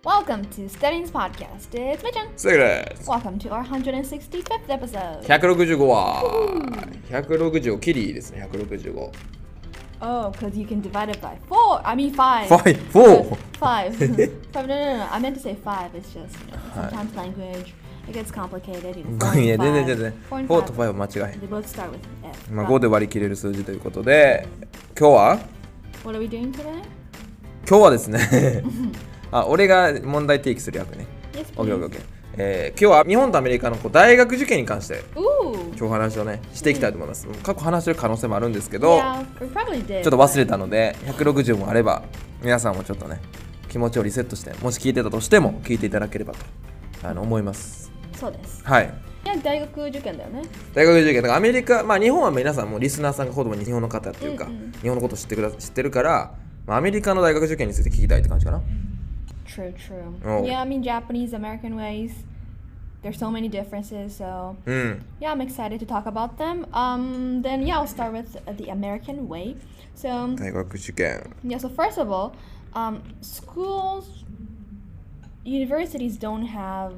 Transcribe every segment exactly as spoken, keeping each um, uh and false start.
Welcome to Studying's podcast. It's Mitchin. すぐです。 Welcome to our one hundred sixty-fifth episode. ひゃくろくじゅうごわ。ひゃくろくじゅうご、キリですね、ひゃくろくじゅうご。 Oh, because you can divide it by four. I mean five. Five, four. Five. Five. No, no, no. I meant to say five. It's just, you know, sometimes language, it gets complicated. You know, いや、全然全然。 four and フォーと five. ファイブは間違えへん。 They both start with F. まあ、ごで割り切れる数字ということで、今日は What are we doing today? 今日はですねあ、俺が問題提起する役ね。 Yes, OK, please. OK, OK。えー、今日は日本とアメリカのこう大学受験に関して Ooh. 今日話をねしていきたいと思います。過去話してる可能性もあるんですけど、 Yeah, we probably did. ちょっと忘れたのでひゃくろくじゅうもあれば皆さんもちょっとね気持ちをリセットしてもし聞いてたとしても聞いていただければとあの思います。 そうです。 はい。 いや、大学受験だよね。 大学受験だからアメリカ、まあ日本は皆さんもリスナーさんがほとんど日本の方っていうか、 うんうん、 日本のこと知ってくだ知ってるから、まあ、アメリカの大学受験について聞きたいって感じかな。 True, true. Oh. Yeah, I mean Japanese, American ways. There's so many differences, so うん。 yeah, I'm excited to talk about them. Um, then yeah, I'll start with uh, the American way. So 大学受験。 yeah, so first of all, um, schools, universities don't have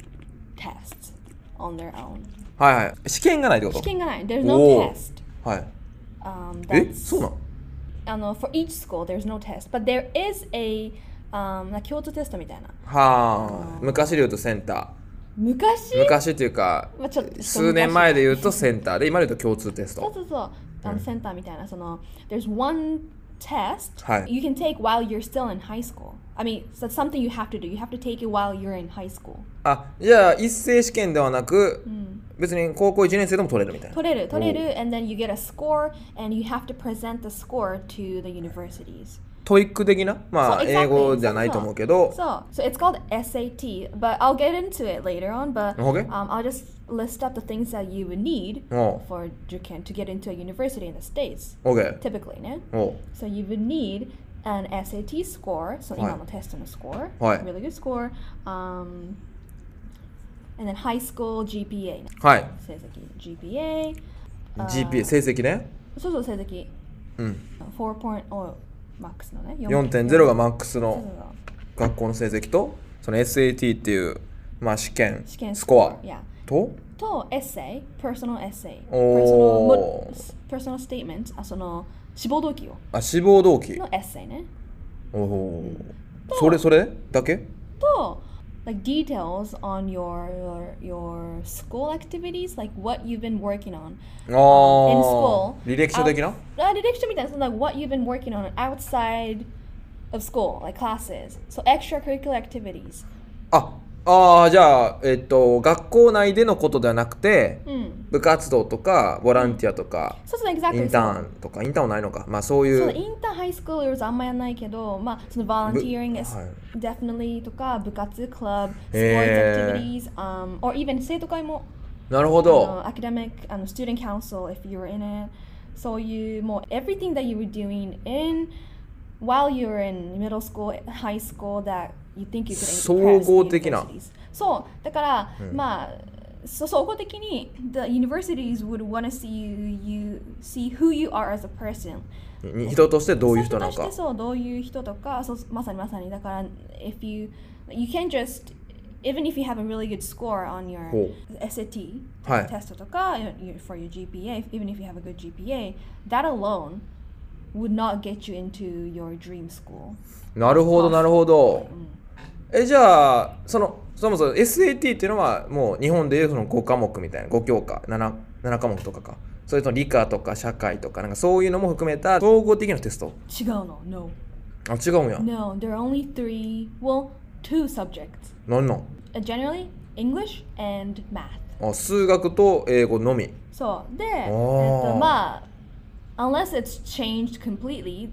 tests on their own. はいはい。試験がないってこと？ 試験がない. There's no おー test. はい。 Um, え、 that's, そうなの？ I don't know, for each school, there's no test, but there is a um, なんか共通テストみたいな。 はあ。昔で言うとセンター。 昔？ 昔っていうか、 まあちょっと数年前で言うとセンターで、今で言うと共通テスト。 そうそうそう。あのセンターみたいな、その There's one test はい。 you can take while you're still in high school. I mean, so that's something you have to do. You have to take it while you're in high school. あ、じゃあ一斉試験ではなく、別に高校いちねん生でも取れるみたいな。 取れる、取れる、and then you get a score, and you have to present the score to the universities. トイック的な、まあ、 そう、exactly. 英語じゃないと思うけど、 So, so it's called S A T, but I'll get into it later on. But Okay. um, I'll just list up the things that you would need おう for Juken to get into a university in the States. OK。 Typically, ね。 おう So you would need an S A T score, so はい。 今のテストの score, はい。 really good score, um, and then high school G P A ね。 はい。 成績 G P A、あージーピーエー 成績ね。 そうそう成績うん。 よんてんゼロマックスのね。 よんてんゼロがマックスそうそうのそう学校の成績と、その エスエーティー っていう、まあ、試験、 試験スコア Yeah. と、 とエッセイ、personal essay、 お personal, personal statement、あその志望動機をあ、志望動機。 のエッセイね。 おお。それそれだけ？ と like details on your your your school activities, like what you've been working on あ in あ。 school. 履歴書的な？ あ、履歴書みたいな、so like what you've been working on outside of school, like classes. So extracurricular activities. あ、ああ、じゃあ、えっと、学校内でのことではなくて、 うん。 部活動とか、ボランティアとか、 そうそう、 イ exactly. ンターンとか、インターンはないのか。まあ、そういそうう。 インターハイスクールはあんまやんないけど、まあ、その volunteering is はい definitely とか、部活、クラブ、sports へー activities, um, or even 生徒会も、 なるほあど。 の academic, あの student council if you were in it. そういうもう everything that you were doing in while you were in middle school, high school that you think you could 総 impress 合 the 的な。 universities. そう、だから、まあ、そ総合的に the universities would want to see you, you see who you are as a person. に人としてどういう人なのか人として。そうどういう人とかそうまさにまさにだから if you you can't just even if you have a really good score on your ほエスエーティーはいテストとか your- for your G P A, even if you have a good G P A, that alone would not get you into your dream school. なるほど、なるほど。え、じゃあ、その、そもそも エスエーティー っていうのは、もう日本でいうそのごかもくみたいな、ご教科、なな、ななかもくとかか。それと理科とか社会とか、なんかそういうのも含めた総合的なテスト。 違うの No. あ、違うんや。 No, there are only three, well, two subjects. なんなん？ Uh, generally, English and math. あ、数学と英語のみ。 そうで、えっおーとまあ unless it's changed completely,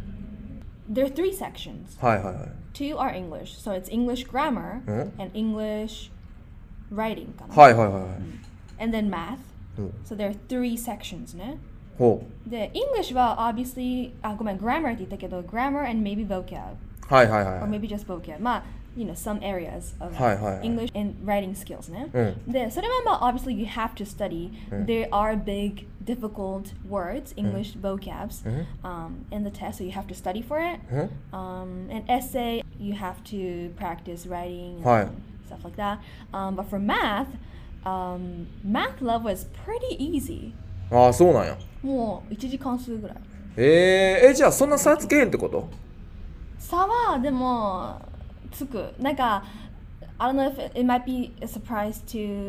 there are three sections. はいはいはい。 Two are English, so it's English grammar うん and English writing かな。 はいはいはいはい。 And then math. うん So there are three sections ね。 ほで、English は obviously あごめん grammar って言ったけど grammar and maybe vocab う。はいはいはい or はい。 maybe just vocab. まあ you know, some areas of はいはいはい English and writing skills ね。 うん。 で、それはまあ obviously you have to study. うん There are big difficult words, English vocabs うん um, in the test, so you have to study for it. うん Um, an essay, you have to practice writing and はい stuff like that. Um, but for math, um, math level is pretty easy. ああ、そうなんや。 もう一次関数ぐらい。 えー、え、じゃあそんな差つけへんってこと？ 差はでもつく。なんか I don't know if it, it might be a surprise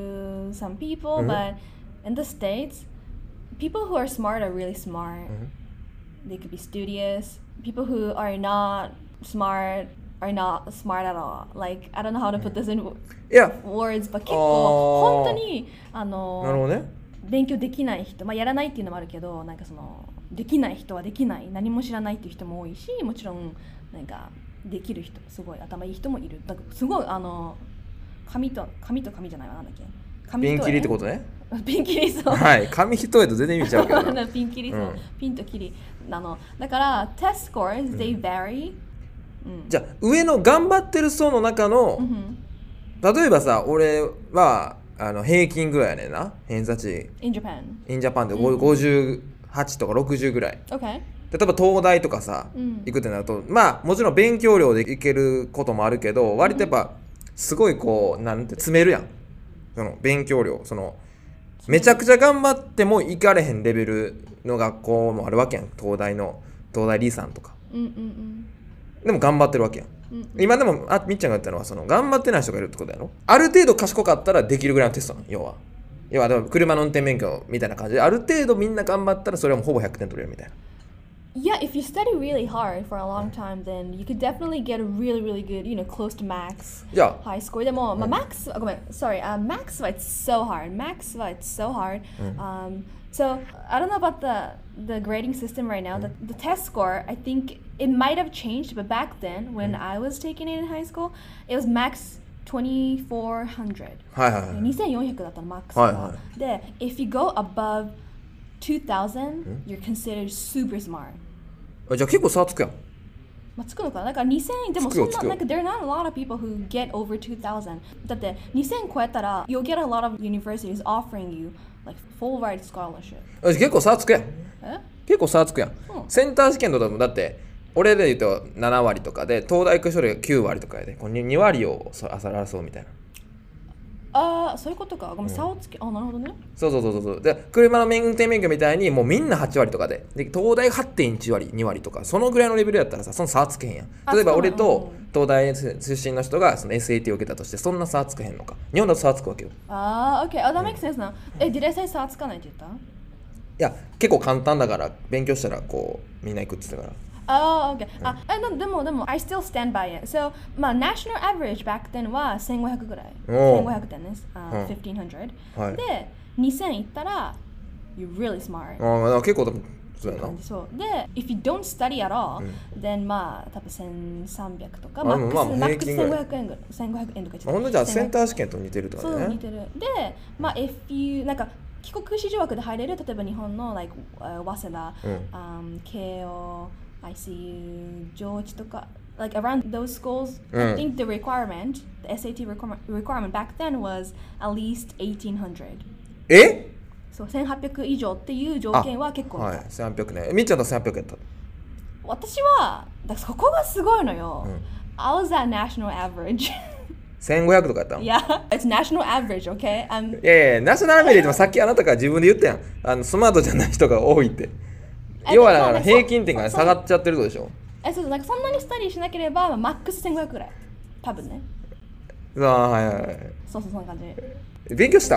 to some people, Mhm. but in the States, people who are smart are really smart. Mhm. They could be studious. People who are not smart are not smart at all. Like, I don't know how to put this in いや、 words, but 結あー構本当にあのなるほどね。 勉強できない人、まあ、やらないっていうのもあるけど、なんかそのできない人はできない、何も知らないっていう人も多いし、もちろんなんかできる人、すごい頭いい人もいる。だからすごいあの紙と紙と紙じゃないわ、なんだっけ、紙ピンキリってことね。 ピンキリそう。 はい、紙一重と全然意味ちゃうけどな。 ピンキリそう、 うんピンとキリなの。だからテスト scores they vary、うん、 じゃあ上の頑張ってる層の中の、 うん、 例えばさ、俺はあの平均ぐらいやねんな、偏差値 in Japan in Japan でうんごじゅうはちとかろくじゅうぐらい。 OK 例えば東大とかさ、 うん行くってなると、まあもちろん勉強量で行けることもあるけど、割とやっぱすごいこうなんて詰めるやん、その勉強量、そのめちゃくちゃ頑張っても行かれへんレベルの学校もあるわけやん。東大の東大リさんとかうんうんでも頑張ってるわけやん。 うんうん今でもあみっちゃんが言ったのはその頑張ってない人がいるってことやろ。ある程度賢かったらできるぐらいのテストなの、要は要はでも車の運転免許みたいな感じで、ある程度みんな頑張ったらそれはもうほぼひゃくてん取れるみたいな。 Yeah, if you study really hard for a long time, then you could definitely get a really, really good, you know, close to max じゃあ high score. でも、まあ、max, あごめん、sorry, uh, max は it's so hard. Max は it's so hard. Um, so, I don't know about the, the grading system right now. The, the test score, I think it might have changed, but back then, when I was taking it in high school, it was max twenty-four hundred. はいはいはいにせんよんひゃくだったの、マックスが。 はいはで、if you go above two thousand, you're considered super smart. あじゃあ結構差つくやん。 まあ、つくのかな、だからにせんでもつくよつくよそんな、なんか there are not a lot of people who get over two thousand. だってにせん超えたら you'll get a lot of universities offering you like full ride scholarship. あ結構差つくやん。 え結構差つくやん。 うんセンター試験とかもだって俺で言うとなな割とかで、東大行く人がきゅう割とかやで、これに割をそあさらそうみたいな。 ああ、そういうことか。ごめん、差をつけ、あ、なるほどね。 そうそうそうそう。で車の運転免許みたいにもうみんなはち割とかで、で東大 はちてんいち 割に割とか、そのぐらいのレベルやったらさ、その差はつけへんやん。 あ例えば俺そうなのと東大出身の人がその エスエーティー を受けたとして、そんな差はつけへんのか。日本だと差はつくわけよ。 ああ、OK。あ、that makes sense な。え、did I say 差つかないって言った？ いや結構簡単だから勉強したらこうみんな行くって言ってたから。 あ、OK。あ、え、でもでも、I still stand by it. So, まあ、national average back then はせんごひゃくぐらい。 おうせんごひゃくてんです。あ、 うん fifteen hundred。 はいで、にせんいったら you're really smart. ああだから結構多分そうやな。 感じそうで、if you don't study at all,、then まあ多分せんさんびゃくとか、 あマックス、 まあまあマックス平均ぐらいせんごひゃくえんぐらい、せんごひゃくえんとか言ってたほんとじゃあセンターー試験と似てるってことそう似ね。 てる。で、まあ if you なんか帰国子女枠で入れる、例えば日本の like、uh, 早稲田、 うん um, 慶応、アイシーユー、上智とか。Like around those schools, うん I think the requirement, the エスエーティー requirement, requirement back then was at least eighteen hundred. えそう、せんはっぴゃく以上っていう条件は結構はいせんはっぴゃくね。みっちゃんとせんはっぴゃくやった。 私はだからそこがすごいのよ。 うん I was at national average. せんごひゃくとかやったの。い yeah, it's national average, okay? I'm やいやナショナルアベレージもさっきあなたから自分で言ったやん。あのスマートじゃない人が多いって。 え要はだからまあね平均点がそう下がっちゃってるってことでしょ。 えそうなんかそんなにスタディしなければ、まあ、マックスせんごひゃくぐらい。多分ね。 ああはいはいはい。 そうそうそんな感じ。 勉強した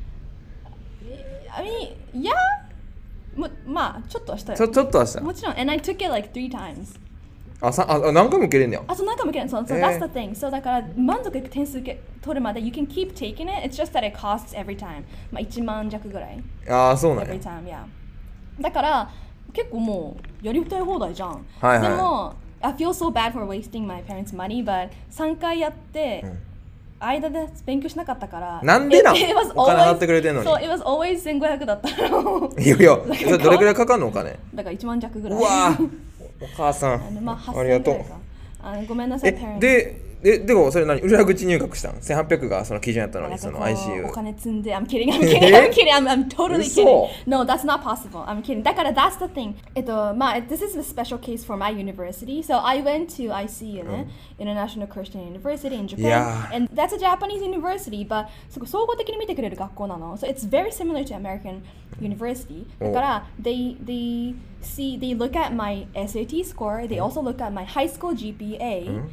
I mean, yeah. もまあちょっとはしたよ。 ちょちょっとはした。 もちろん。And I took it like three times. あさあ何回も受けれんねや。 あ、そう何回も受けない。そう、そう、 えー that's the thing. そうだから満足いく点数け取るまで you can keep taking it. It's just that it costs every time. まあいちまん弱ぐらい。 ああそうなん every や。 time, yeah. だから結構もうやりたい放題じゃん。 はいはいでも I feel so bad for wasting my parents' money, but さんかいやって、 うん間で勉強しなかったから。 なんでなん It- it was お金 always- 払ってくれてんのに。 そう、it was always せんごひゃくだったの。 いやいや、それどれくらいかかんのお金。 だからいちまん弱ぐらい。 うわーお母さんあのまあ、 ありがとうはっせんぐらいか。あごめんなさい、 え parents。 でででもそれ何裏口入学したん？せんはっぴゃくがその基準やったのにその アイシーユー。 お金積んで I'm kidding, I'm kidding, I'm kidding, I'm, I'm totally kidding. No, that's not possible. I'm kidding. だから that's the thing. えっとまあ this is a special case for my university. So I went to アイシーユー ね、International Christian University in Japan. Yeah. And that's a Japanese university, but すごい総合的に見てくれる学校なの。So it's very similar to American university. だから they they see they look at my エスエーティー score. They also look at my high school ジーピーエー.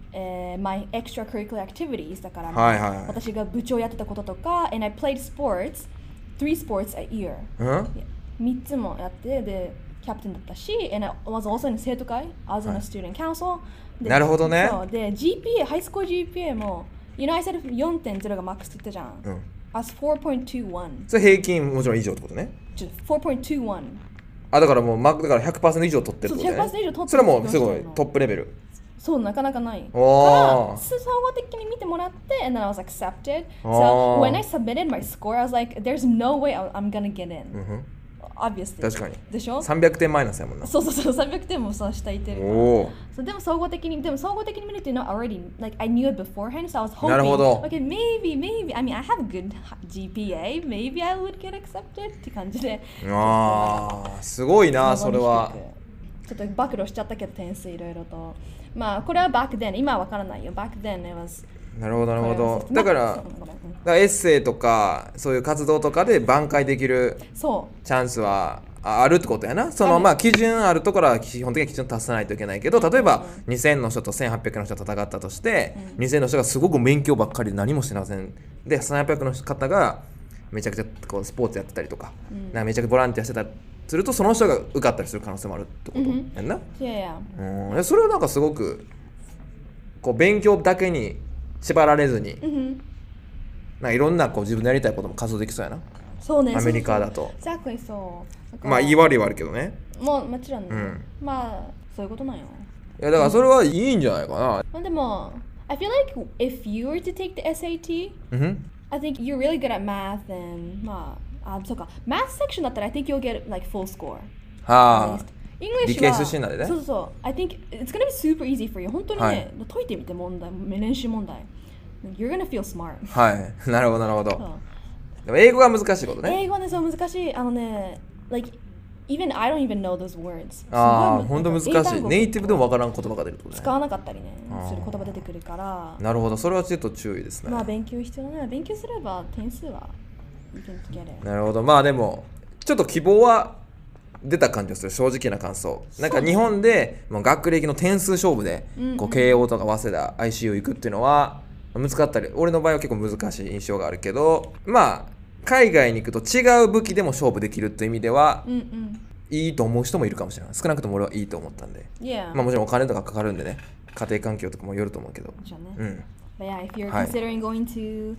Uh, my extracurricular activities だから、 はいはいはい、 私が部長やってたこととか and I played sports three sports a year、うん、みっつもやってでキャプテンだったし and I was also in 生徒会 I was in a student council、はい、 なるほどね。 そうで ジーピーエー ハイスコー ジーピーエー も you know I said よんてんゼロ がマックスって言ったじゃん、うん、I was フォーポイントにじゅういちそれ平均もちろん以上ってことね。 フォーポイントにじゅういちあだからもうマックだから ひゃくパーセント 以上取ってるってことね。 そう ひゃくパーセント 以上取ってる。 それはもうすごいトップレベル。 そうなかなかないから総合的に見てもらって and then I was accepted. So when I submitted my score I was like there's no way I'm gonna get in、うん、obviously 確かにでしょ。 さんびゃくてんマイナスやもんな。 そうそうそうさんびゃくてんもさ下いてるから。そうでも総合的にでも総合的に見ると you know already like I knew it beforehand so I was hoping なるほど okay maybe maybe I mean I have a good ジーピーエーmaybe I would get accepted って感じで。 ああすごいなそれは。 ちょっと暴露しちゃったけど点数いろいろと。まあこれは back then 今はわからないよ back then it was なるほどなるほど。だからだからエッセイとかそういう活動とかで挽回できるチャンスはあるってことやな。そのまあ基準あるところは基本的に基準達さないといけないけど例えばにせんの人とせんはっぴゃくの人と戦ったとしてにせんの人がすごく勉強ばっかりで何もしてませんでせんはっぴゃくの方がめちゃくちゃこうスポーツやってたりとか、うん、なんかめちゃくちゃボランティアしてたりするとその人が受かったりする可能性もあるってこと、うん、やんな。 いやいや、 うん、それはなんかすごくこう勉強だけに縛られずに、うん、なんかいろんなこう自分のやりたいことも活動できそうやな。 そうね。 アメリカだと。 Exactlyそうまあ言い悪いはあるけどね。 もうもちろんね、うん、まあそういうことなんよ。 いやだからそれはいいんじゃないかな。まあでも I feel like if you were to take the エスエーティー、mm-hmm. I think you're really good at math and まああ、そうか。Math section だったら I think you'll get like full score. はあ。 English 理系出身なんでね。 そうそう。I think it's gonna be super easy for you. 本当にね、はい、解いてみて問題、練習問題。You're gonna feel smart. はい。なるほどなるほど。でも英語が難しいことね。 英語はね、そう難しい。あのね、like even I don't even know those words. ああ、本当難しい。ネイティブでもわからん言葉が出るってことね。 使わなかったりね、する言葉出てくるから。 なるほど。それはちょっと注意ですね。 まあ勉強必要だね。勉強すれば点数は。 なるほど。まあでもちょっと希望は出た感じがする。正直な感想。なんか日本でもう学歴の点数勝負でこう慶応とか早稲田 アイシーユー 行くっていうのは難かったり、俺の場合は結構難しい印象があるけど、まあ海外に行くと違う武器でも勝負できるっていう意味では、うんうん、いいと思う人もいるかもしれない。少なくとも俺はいいと思ったんで、 yeah. まあもちろんお金とかかかるんでね、家庭環境とかもよると思うけど、 うん。But yeah, if you're considering going to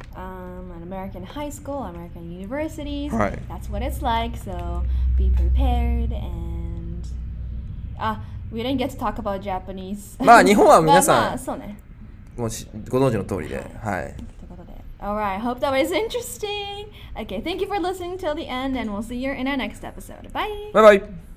Um, an American high school, American universities. Right. That's what it's like. So be prepared. And ah, we didn't get to talk about Japanese. まあ日本は皆さん、 まあ、そうね。 もうご存知の通りで、はい。 Alright, hope that was interesting. Okay, thank you for listening till the end, and we'll see you in our next episode. Bye. Bye bye.